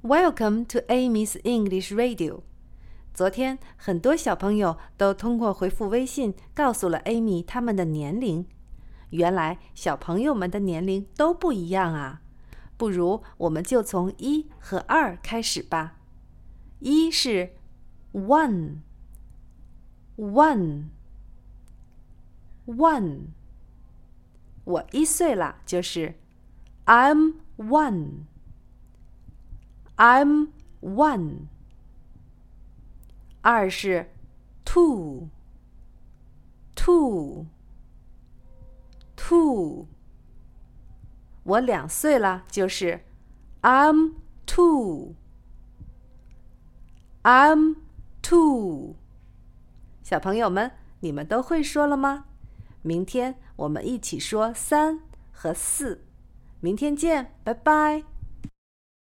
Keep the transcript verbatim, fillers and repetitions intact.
Welcome to Amy's English Radio. 昨天，很多小朋友都通过回复微信告诉了 Amy 他们的年龄。原来小朋友们的年龄都不一样啊！不如我们就从一和二开始吧。一是 one, one, one。我一岁了，就是 I'm one.I'm one。 二是 two, two, two。 我两岁了，就是 I'm two, I'm two。 小朋友们，你们都会说了吗？明天我们一起说三和四。明天见，拜拜。